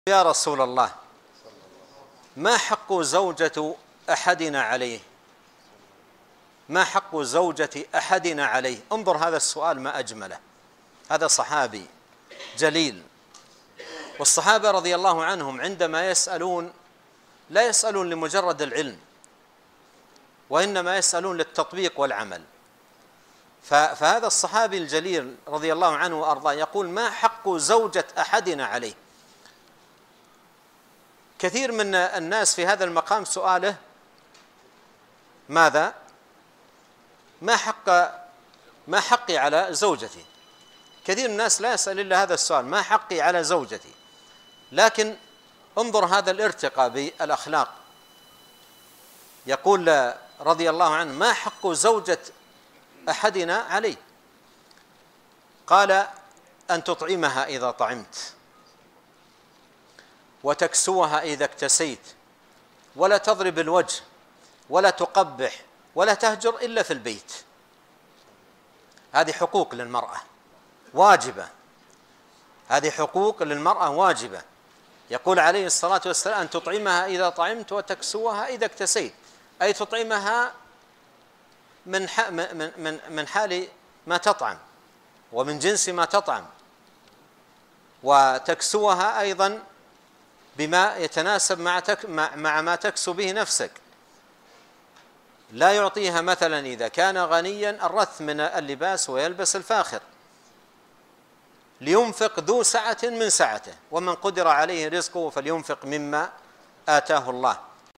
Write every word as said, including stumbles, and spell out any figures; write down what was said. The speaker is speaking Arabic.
يا رسول الله، ما حق زوجة أحدنا عليه؟ ما حق زوجة أحدنا عليه؟ انظر هذا السؤال ما أجمله. هذا صحابي جليل، والصحابة رضي الله عنهم عندما يسألون لا يسألون لمجرد العلم، وإنما يسألون للتطبيق والعمل. فهذا الصحابي الجليل رضي الله عنه وأرضاه يقول: ما حق زوجة أحدنا عليه؟ كثير من الناس في هذا المقام سؤاله ماذا؟ ما حق ما حقي على زوجتي؟ كثير من الناس لا يسأل إلا هذا السؤال: ما حقي على زوجتي؟ لكن انظر هذا الارتقاء بالأخلاق. يقول رضي الله عنه: ما حق زوجة أحدنا عليه؟ قال: أن تطعمها إذا طعمت، وتكسوها إذا اكتسيت، ولا تضرب الوجه، ولا تقبح، ولا تهجر إلا في البيت. هذه حقوق للمرأة واجبة، هذه حقوق للمرأة واجبة. يقول عليه الصلاة والسلام: أن تطعمها إذا طعمت، وتكسوها إذا اكتسيت، أي تطعمها من من من حال ما تطعم ومن جنس ما تطعم، وتكسوها أيضا بما يتناسب مع مع ما تكسو به نفسك. لا يعطيها مثلا إذا كان غنيا الرث من اللباس ويلبس الفاخر. لينفق ذو سعة من سعته، ومن قدر عليه رزقه فلينفق مما آتاه الله.